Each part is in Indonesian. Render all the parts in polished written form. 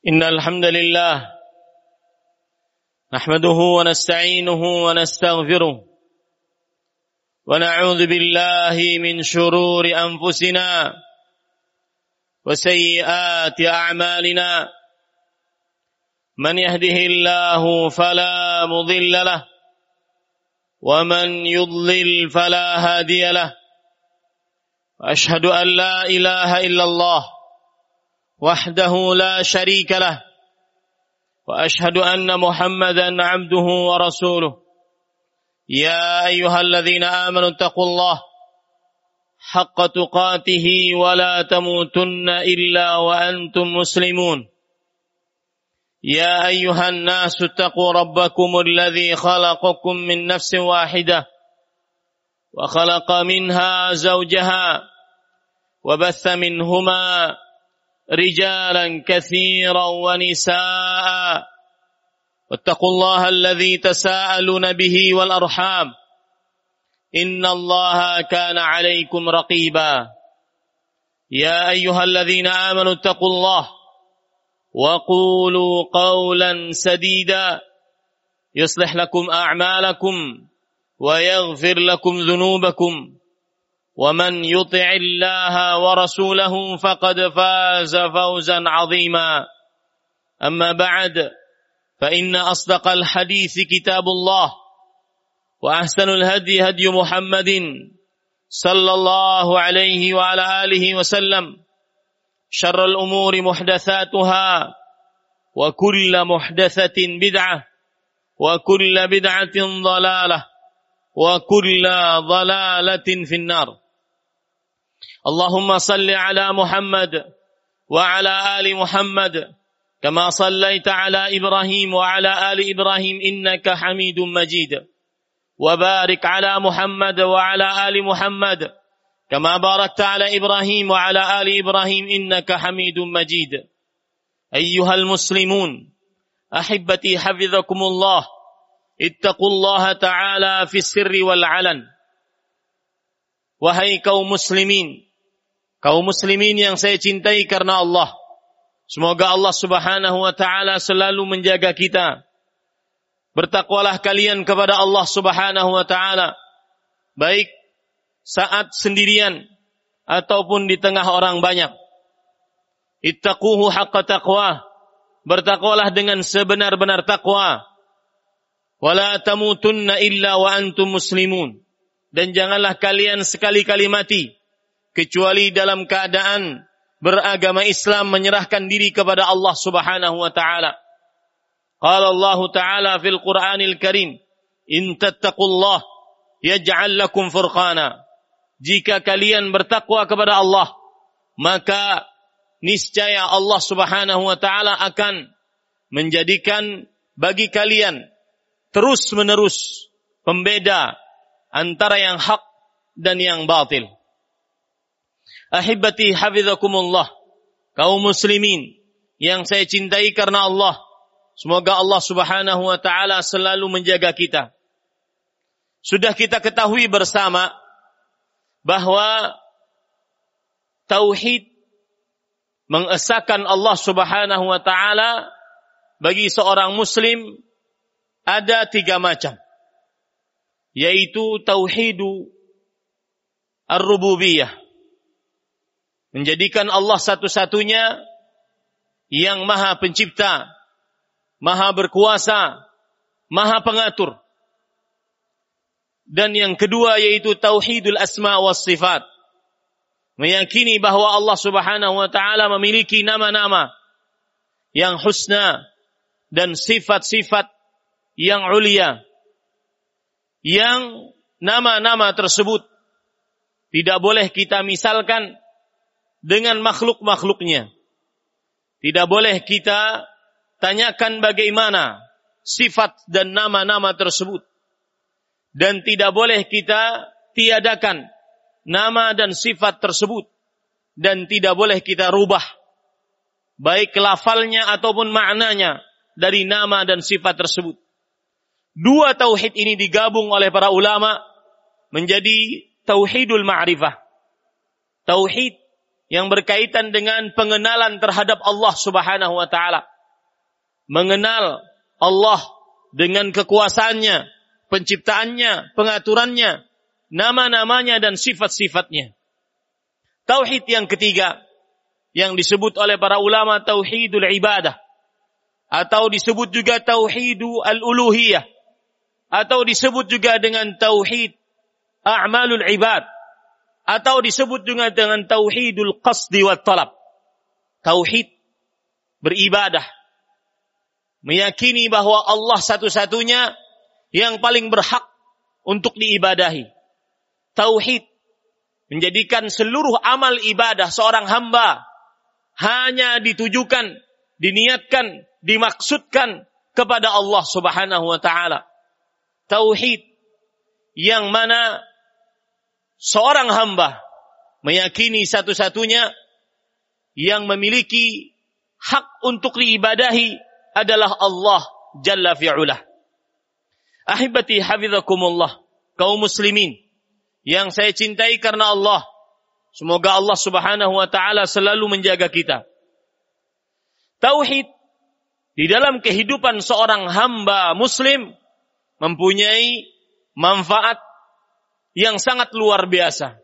إن الحمد لله نحمده ونستعينه ونستغفره ونعوذ بالله من شرور أنفسنا وسيئات أعمالنا من يهده الله فلا مضل له ومن يضلل فلا هادي له وأشهد أن لا إله إلا الله وحده لا شريك له وأشهد أن محمدا عبده ورسوله يا أيها الذين آمنوا اتقوا الله حق تقاته ولا تموتن إلا وأنتم مسلمون يا أيها الناس اتقوا ربكم الذي خلقكم من نفس واحدة وخلق منها زوجها وبث منهما رجالا كثيرا ونساء واتقوا الله الذي تساءلون به والأرحام إن الله كان عليكم رقيبا يا أيها الذين آمنوا اتقوا الله وقولوا قولا سديدا يصلح لكم أعمالكم ويغفر لكم ذنوبكم ومن يطع الله ورسوله فقد فاز فوزا عظيما أما بعد فإن أصدق الحديث كتاب الله وأحسن الهدي هدي محمد صلى الله عليه وعلى آله وسلم شر الأمور محدثاتها وكل محدثة بدعة وكل بدعة ضلالة وكل ضلالة في النار اللهم صل على محمد وعلى آل محمد كما صليت على إبراهيم وعلى آل إبراهيم إنك حميد مجيد وبارك على محمد وعلى آل محمد كما باركت على إبراهيم وعلى آل إبراهيم إنك حميد مجيد أيها المسلمون أحبتي حفظكم الله اتقوا الله تعالى في السر والعلن. Wahai kaum muslimin yang saya cintai karena Allah, semoga Allah Subhanahu wa taala selalu menjaga kita. Bertakwalah kalian kepada Allah Subhanahu wa taala, baik saat sendirian ataupun di tengah orang banyak. Ittaquhu haqqa taqwa, bertakwalah dengan sebenar-benar takwa. Wala tamutunna illa wa antum muslimun, dan janganlah kalian sekali-kali mati kecuali dalam keadaan beragama Islam, menyerahkan diri kepada Allah Subhanahu wa taala. Qala Allah taala fil Qur'anil Karim, in tattaqullah yaj'al lakum furqana. Jika kalian bertakwa kepada Allah, maka niscaya Allah Subhanahu wa taala akan menjadikan bagi kalian terus-menerus pembeda antara yang hak dan yang batil. Ahibati hafizakumullah, kaum muslimin yang saya cintai karena Allah, semoga Allah Subhanahu wa taala selalu menjaga kita. Sudah kita ketahui bersama bahwa tauhid, mengesahkan Allah Subhanahu wa taala, bagi seorang muslim ada 3 macam, yaitu tauhidu ar-rububiyah, menjadikan Allah satu-satunya yang maha pencipta, maha berkuasa, maha pengatur. Dan yang kedua yaitu tauhidul asma was sifat, meyakini bahwa Allah Subhanahu wa taala memiliki nama-nama yang husna dan sifat-sifat yang ulia, yang nama-nama tersebut tidak boleh kita misalkan dengan makhluk-makhluknya. Tidak boleh kita tanyakan bagaimana sifat dan nama-nama tersebut. Dan tidak boleh kita tiadakan nama dan sifat tersebut. Dan tidak boleh kita rubah, baik lafalnya ataupun maknanya dari nama dan sifat tersebut. 2 tauhid ini digabung oleh para ulama menjadi tauhidul ma'rifah. Tauhid yang berkaitan dengan pengenalan terhadap Allah Subhanahu wa taala. mengenal Allah dengan kekuasaannya, penciptaannya, pengaturannya, nama-namanya dan sifat-sifatnya. Tauhid yang ketiga yang disebut oleh para ulama tauhidul ibadah, atau disebut juga tauhidul uluhiyah, atau disebut juga dengan tauhid a'malul ibad, atau disebut juga dengan tauhidul qasdi wat talab. Tauhid beribadah, meyakini bahwa Allah satu-satunya yang paling berhak untuk diibadahi. Tauhid menjadikan seluruh amal ibadah seorang hamba hanya ditujukan, diniatkan, dimaksudkan kepada Allah Subhanahu wa ta'ala. Tauhid yang mana seorang hamba meyakini satu-satunya yang memiliki hak untuk diibadahi adalah Allah Jalla fi'ulah. Ahibati hafizakumullah, kaum muslimin yang saya cintai karena Allah, semoga Allah Subhanahu wa ta'ala selalu menjaga kita. Tauhid di dalam kehidupan seorang hamba muslim mempunyai manfaat yang sangat luar biasa.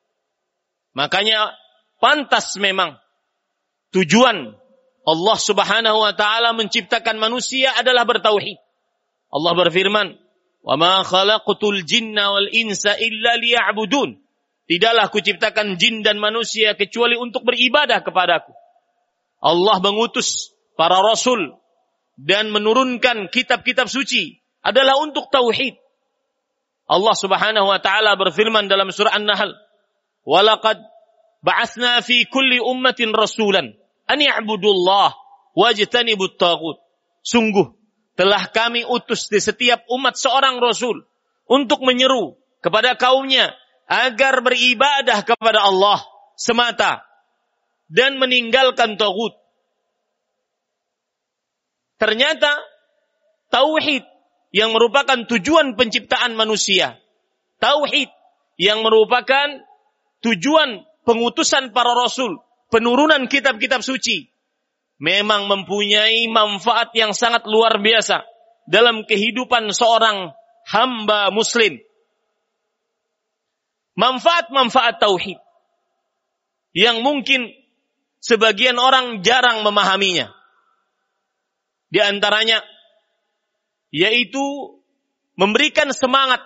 Makanya pantas memang tujuan Allah Subhanahu wa ta'ala menciptakan manusia adalah bertauhid. Allah berfirman, وَمَا خَلَقْتُ الْجِنَّ وَالْإِنسَ إِلَّا لِيَعْبُدُونَ. Tidaklah kuciptakan jin dan manusia kecuali untuk beribadah kepadaku. Allah mengutus para rasul dan menurunkan kitab-kitab suci adalah untuk tauhid. Allah Subhanahu wa ta'ala berfirman dalam surah An-Nahl, وَلَقَدْ بَعَثْنَا فِي كُلِّ أُمَّةٍ رَسُولًا أَنْ يَعْبُدُوا اللَّهَ وَاجْتَنِبُوا الطَّاغُوتَ. Sungguh telah kami utus di setiap umat seorang rasul untuk menyeru kepada kaumnya agar beribadah kepada Allah semata dan meninggalkan taghut. Ternyata tauhid yang merupakan tujuan penciptaan manusia, tauhid yang merupakan tujuan pengutusan para rasul, penurunan kitab-kitab suci, memang mempunyai manfaat yang sangat luar biasa dalam kehidupan seorang hamba muslim. Manfaat-manfaat tauhid yang mungkin sebagian orang jarang memahaminya. Di antaranya yaitu memberikan semangat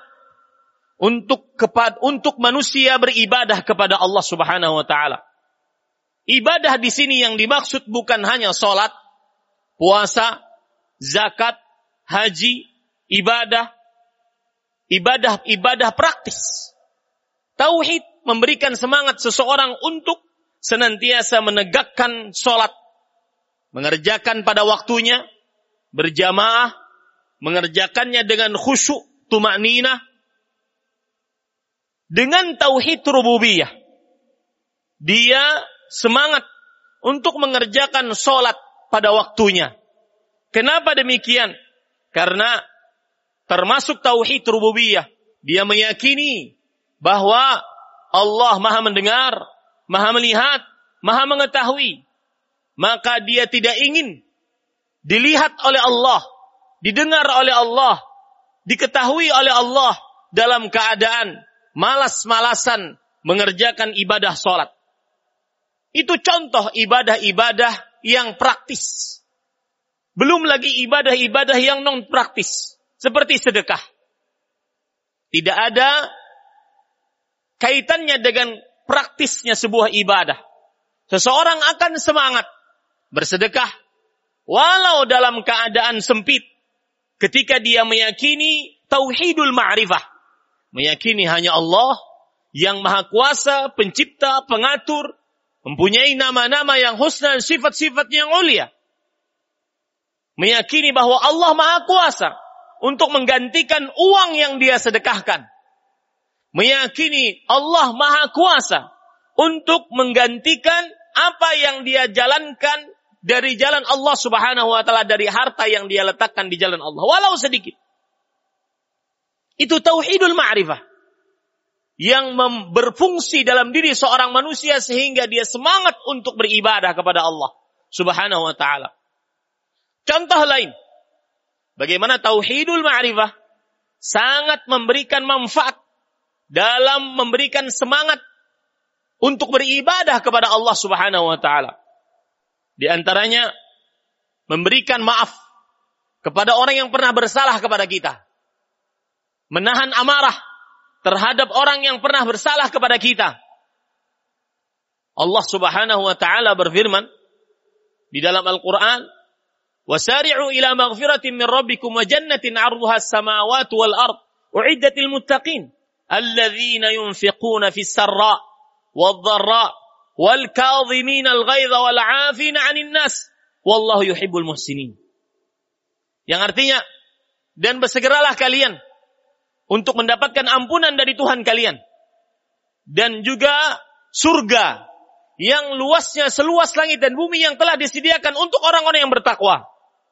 untuk manusia beribadah kepada Allah Subhanahu wa ta'ala. Ibadah di sini yang dimaksud bukan hanya salat, puasa, zakat, haji, ibadah praktis. Tauhid memberikan semangat seseorang untuk senantiasa menegakkan salat, mengerjakan pada waktunya, berjamaah, mengerjakannya dengan khusyuk, tumakninah, dengan tauhid rububiyah. Dia semangat untuk mengerjakan sholat pada waktunya. Kenapa demikian? Karena termasuk tauhid rububiyah, dia meyakini bahwa Allah Maha mendengar, Maha melihat, Maha mengetahui. Maka dia tidak ingin dilihat oleh Allah, didengar oleh Allah, diketahui oleh Allah dalam keadaan malas-malasan mengerjakan ibadah sholat. Itu contoh ibadah-ibadah yang praktis. Belum lagi ibadah-ibadah yang non praktis, seperti sedekah. Tidak ada kaitannya dengan praktisnya sebuah ibadah. Seseorang akan semangat bersedekah walau dalam keadaan sempit, ketika dia meyakini tauhidul ma'rifah, meyakini hanya Allah yang maha kuasa, pencipta, pengatur, mempunyai nama-nama yang husna dan sifat-sifat yang mulia. Meyakini bahwa Allah maha kuasa untuk menggantikan uang yang dia sedekahkan. Meyakini Allah maha kuasa untuk menggantikan apa yang dia jalankan dari jalan Allah Subhanahu wa ta'ala, dari harta yang dia letakkan di jalan Allah, walau sedikit. Itu tauhidul ma'rifah yang berfungsi dalam diri seorang manusia sehingga dia semangat untuk beribadah kepada Allah Subhanahu wa ta'ala. Contoh lain, bagaimana tauhidul ma'rifah sangat memberikan manfaat dalam memberikan semangat untuk beribadah kepada Allah Subhanahu wa taala. Di antaranya memberikan maaf kepada orang yang pernah bersalah kepada kita. Menahan amarah terhadap orang yang pernah bersalah kepada kita. Allah Subhanahu wa taala berfirman di dalam Al-Qur'an, "Wasari'u ila maghfiratin min rabbikum wa jannatin 'arduha as-samawati wal ard, u'iddat lil muttaqin, alladzina yunfiquna fis sarra wad dharra wal kadhimina al-ghaidha wal 'afina 'anil nas, wallahu yuhibbul muhsinin." Yang artinya, dan bersegeralah kalian untuk mendapatkan ampunan dari Tuhan kalian, dan juga surga yang luasnya seluas langit dan bumi yang telah disediakan untuk orang-orang yang bertakwa.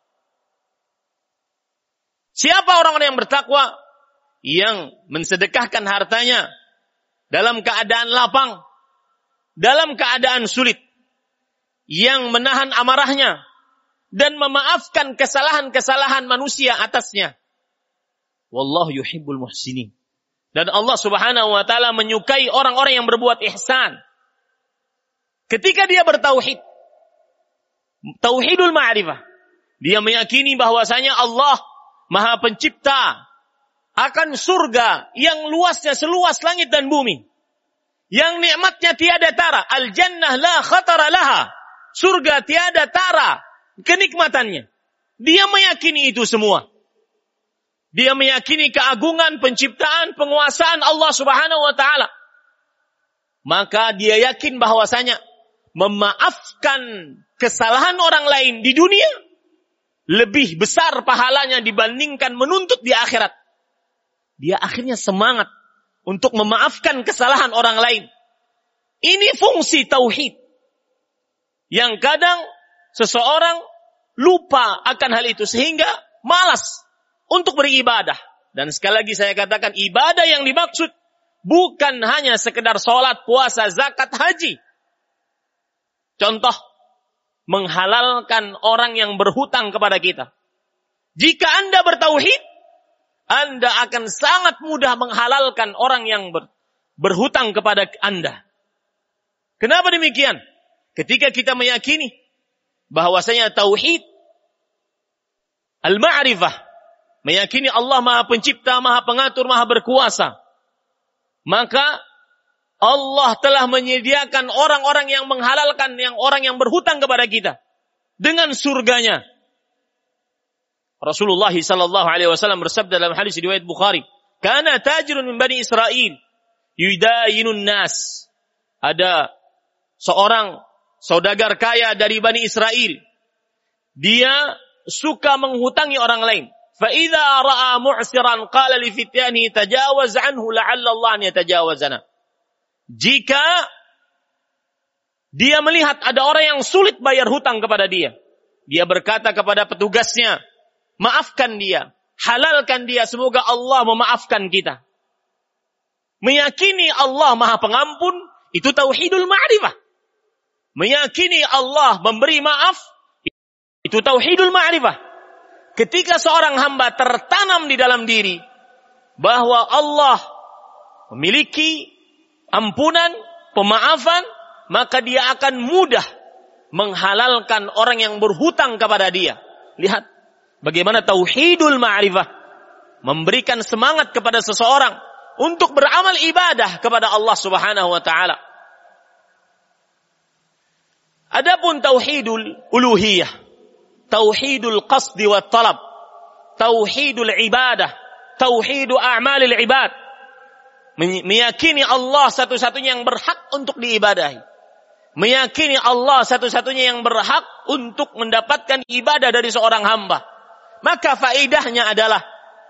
Siapa orang-orang yang bertakwa? Yang mensedekahkan hartanya dalam keadaan lapang, dalam keadaan sulit, yang menahan amarahnya dan memaafkan kesalahan-kesalahan manusia atasnya. Wallahu yuhibbul muhsinin. Dan Allah Subhanahu wa taala menyukai orang-orang yang berbuat ihsan. Ketika dia bertauhid, tauhidul ma'rifah, dia meyakini bahwasanya Allah Maha Pencipta akan surga yang luasnya seluas langit dan bumi, yang nikmatnya tiada tara, al-jannah la khatara laha, surga tiada tara kenikmatannya. Dia meyakini itu semua. Dia meyakini keagungan, penciptaan, penguasaan Allah Subhanahu wa taala. Maka dia yakin bahwasanya memaafkan kesalahan orang lain di dunia lebih besar pahalanya dibandingkan menuntut di akhirat. Dia akhirnya semangat untuk memaafkan kesalahan orang lain. Ini fungsi tauhid yang kadang seseorang lupa akan hal itu sehingga malas untuk beribadah. Dan sekali lagi saya katakan, ibadah yang dimaksud bukan hanya sekedar sholat, puasa, zakat, haji. Contoh, menghalalkan orang yang berhutang kepada kita. Jika Anda bertauhid, Anda akan sangat mudah menghalalkan orang yang berhutang kepada Anda. Kenapa demikian? Ketika kita meyakini bahwasanya tauhid al-ma'rifah, meyakini Allah Maha Pencipta, Maha Pengatur, Maha Berkuasa, maka Allah telah menyediakan orang-orang yang menghalalkan orang yang berhutang kepada kita dengan surganya. Rasulullah sallallahu alaihi wasallam bersabda dalam hadis riwayat Bukhari, "Kana tajirun min Bani Israil yudayinun nas." Ada seorang saudagar kaya dari Bani Israel. Dia suka menghutangi orang lain. Fa idza ra'a mu'siran qala li fityanihi tajawaz anhu la'alla Allah an yatajawazana. Jika dia melihat ada orang yang sulit bayar hutang kepada dia, dia berkata kepada petugasnya, maafkan dia, halalkan dia, semoga Allah memaafkan kita. Meyakini Allah Maha Pengampun, itu tauhidul ma'rifah. Meyakini Allah memberi maaf, itu tauhidul ma'rifah. Ketika seorang hamba tertanam di dalam diri bahwa Allah memiliki ampunan, pemaafan, maka dia akan mudah menghalalkan orang yang berhutang kepada dia. Lihat bagaimana tauhidul ma'rifah memberikan semangat kepada seseorang untuk beramal ibadah kepada Allah Subhanahu wa taala. Adapun tauhidul uluhiyah, tauhidul qasdi wa talab, tauhidul ibadah, tauhidu a'malil ibad, meyakini Allah satu-satunya yang berhak untuk diibadahi, meyakini Allah satu-satunya yang berhak untuk mendapatkan ibadah dari seorang hamba. Maka faedahnya adalah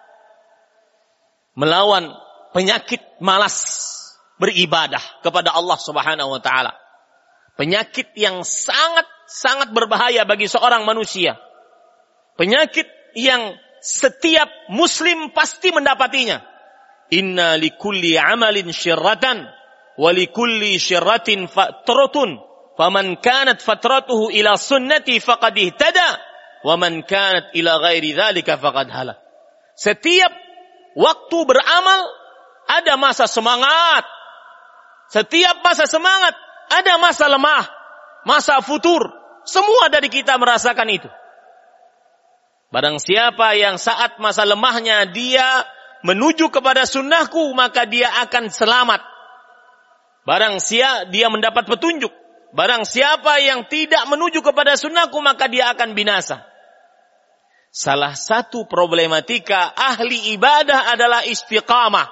melawan penyakit malas beribadah kepada Allah Subhanahu wa taala. Penyakit yang sangat berbahaya bagi seorang manusia. Penyakit yang setiap muslim pasti mendapatinya. Inna likulli amalin syirratan wa likulli syirratin fatratun faman kanat fatratuhu ila sunnati faqad ihtada wa man kanat ila ghairi dzalika faqad halak. Setiap waktu beramal ada masa semangat. Setiap masa semangat ada masa lemah, masa futur. Semua dari kita merasakan itu. Barang siapa yang saat masa lemahnya dia menuju kepada sunnahku, maka dia akan selamat. Barang siapa dia mendapat petunjuk. Barang siapa yang tidak menuju kepada sunnahku, maka dia akan binasa. Salah satu problematika ahli ibadah adalah istiqamah.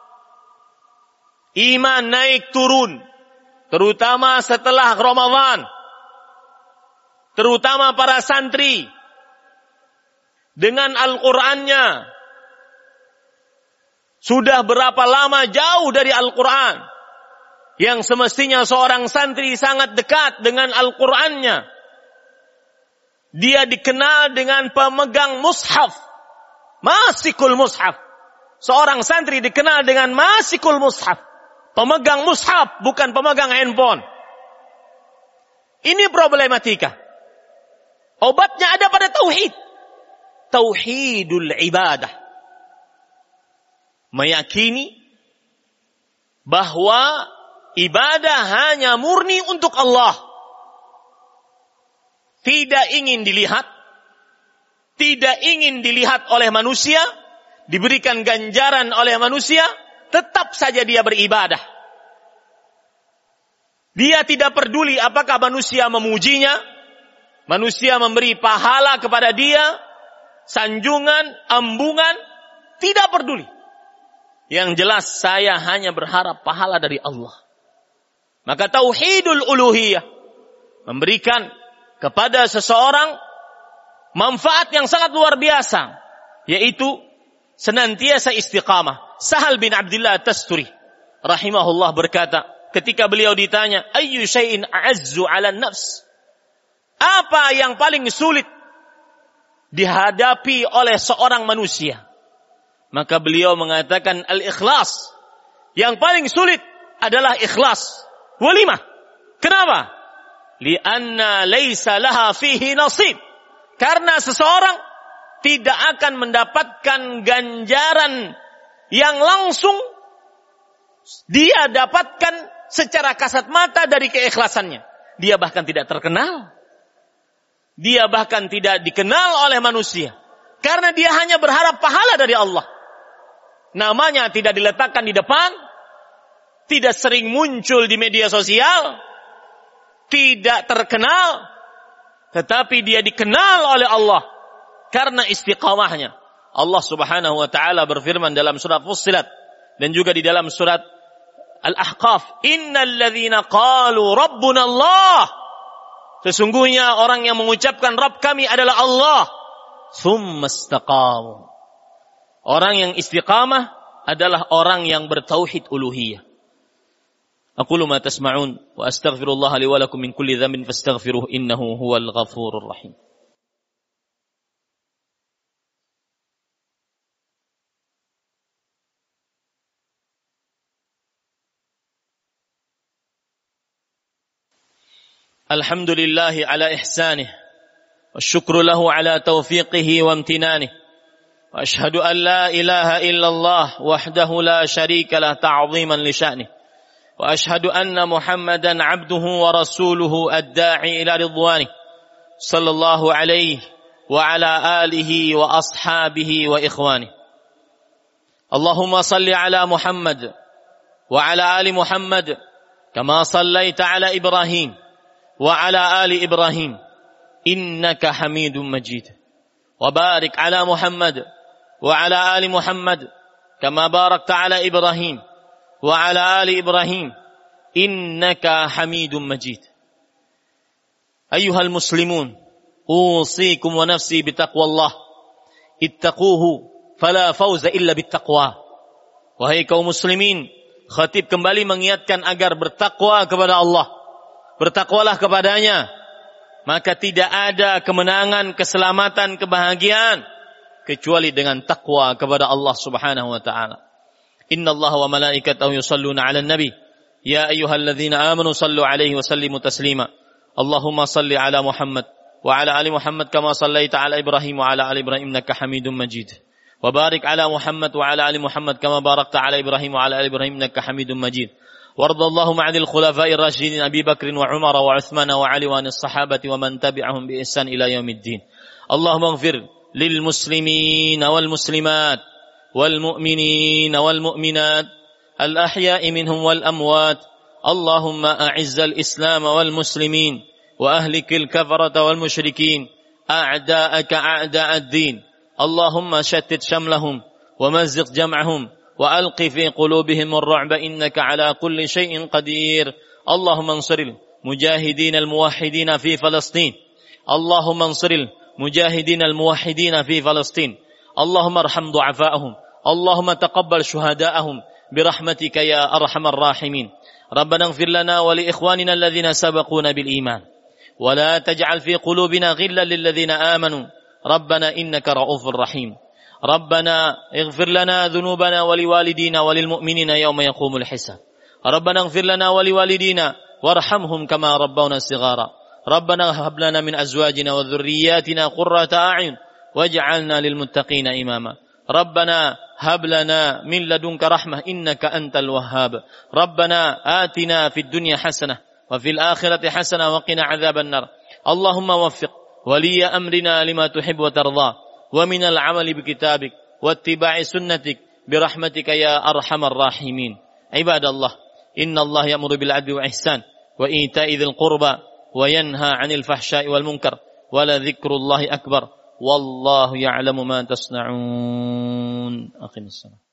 Iman naik turun, terutama setelah Ramadan. Terutama para santri dengan Al-Qur'annya sudah berapa lama jauh dari Al-Qur'an, yang semestinya seorang santri sangat dekat dengan Al-Qur'annya. Dia dikenal dengan pemegang mushaf, masikul mushaf. Seorang santri dikenal dengan masikul mushaf, pemegang mushaf, bukan pemegang handphone. Ini problematika. Obatnya ada pada tauhid. Tauhidul ibadah. Meyakini bahwa ibadah hanya murni untuk Allah. Tidak ingin dilihat. Tidak ingin dilihat oleh manusia. Diberikan ganjaran oleh manusia. Tetap saja dia beribadah. Dia tidak peduli apakah manusia memujinya. Manusia memberi pahala kepada dia, sanjungan, ambungan, tidak peduli. Yang jelas saya hanya berharap pahala dari Allah. Maka tauhidul uluhiyah memberikan kepada seseorang manfaat yang sangat luar biasa, yaitu senantiasa istiqamah. Sahal bin Abdullah Tasturi rahimahullah berkata, ketika beliau ditanya, ayyu syai'in a'azzu 'ala nafs? Apa yang paling sulit dihadapi oleh seorang manusia? Maka beliau mengatakan al-ikhlas. Yang paling sulit adalah ikhlas. Walimah. Kenapa? Lianna laysa laha fihi nasib. Karena seseorang tidak akan mendapatkan ganjaran yang langsung dia dapatkan secara kasat mata dari keikhlasannya. Dia bahkan tidak terkenal. Dia bahkan tidak dikenal oleh manusia. Karena dia hanya berharap pahala dari Allah. Namanya tidak diletakkan di depan. Tidak sering muncul di media sosial. Tidak terkenal. Tetapi dia dikenal oleh Allah. Karena istiqamahnya. Allah subhanahu wa ta'ala berfirman dalam surat Fussilat. Dan juga di dalam surat Al-Ahqaf. Innal ladzina qalu rabbuna Allah. Sesungguhnya orang yang mengucapkan Rabb kami adalah Allah. Tsumma istaqamu. Orang yang istiqamah adalah orang yang bertauhid uluhiyah. Aqulu ma tasma'un wa astaghfirullah li wa lakum min kulli dhanbin fastaghfiruhu innahu huwal ghafurur rahim. الحمد لله على إحسانه والشكر له على توفيقه وامتنانه وأشهد أن لا إله إلا الله وحده لا شريك له تعظيما لشأنه وأشهد أن محمدا عبده ورسوله الداعي إلى رضوانه صلى الله عليه وعلى آله وأصحابه وإخوانه اللهم صل على محمد وعلى آل محمد كما صليت على إبراهيم وعلى آل إبراهيم إنك حميد مجيد وبارك على محمد وعلى آل محمد كما باركت على إبراهيم وعلى آل إبراهيم إنك حميد مجيد أيها المسلمون أوصيكم ونفسي بتقوى الله اتقوه فلا فوز إلا بالتقوى. Wahai kaum muslimin, khatib kembali mengingatkan agar bertakwa kepada Allah. Bertakwalah kepadanya, maka tidak ada kemenangan, keselamatan, kebahagiaan kecuali dengan takwa kepada Allah Subhanahu wa taala. Innallaha wa malaikatahu yusholluna 'alan nabi ya ayyuhalladzina amanu shallu 'alaihi wa sallimu taslima. Allahumma shalli 'ala Muhammad وعلى آل محمد كما صليت على إبراهيم وعلى آل إبراهيم إنك حميد مجيد وبارك على محمد وعلى آل محمد كما باركت على إبراهيم وعلى آل إبراهيم إنك حميد مجيد وارض اللهم عن الخلفاء الراشدين أبي بكر وعمر وعثمان وعلي وعن الصحابة ومن تبعهم بإحسان إلى يوم الدين. اللهم اغفر للمسلمين والمسلمات والمؤمنين والمؤمنات الأحياء منهم والأموات. اللهم أعز الإسلام والمسلمين وأهلك الكفرة والمشركين أعداءك أعداء الدين. اللهم شتت شملهم ومزق جمعهم وألق في قلوبهم الرعب إنك على كل شيء قدير. اللهم انصر المجاهدين الموحدين في فلسطين. اللهم انصر المجاهدين الموحدين في فلسطين. اللهم ارحم ضعفاءهم. اللهم تقبل شهداءهم برحمتك يا أرحم الراحمين. ربنا اغفر لنا ولإخواننا الذين سبقونا بالإيمان ولا تجعل في قلوبنا غلا للذين آمنوا ربنا إنك رؤوف رحيم. ربنا اغفر لنا ذنوبنا ولوالدينا وللمؤمنين يوم يقوم الحساب. ربنا اغفر لنا ولوالدينا وارحمهم كما ربونا صغارا. ربنا هب لنا من أزواجنا وذرياتنا قرة أعين واجعلنا للمتقين إماما. ربنا هب لنا من لدنك رحمة إنك أنت الوهاب. ربنا آتنا في الدنيا حسنة وفي الآخرة حسنة وقنا عذاب النار. اللهم وفق ولي أمرنا لما تحب وترضى ومن العمل بكتابك واتباع سنتك برحمتك يا أرحم الراحمين. عباد الله إن الله يأمر بالعدل والإحسان وإيتاء ذي القربى وينهى عن الفحشاء والمنكر ولذكر الله أكبر والله يعلم ما تصنعون. أقم الصلاة.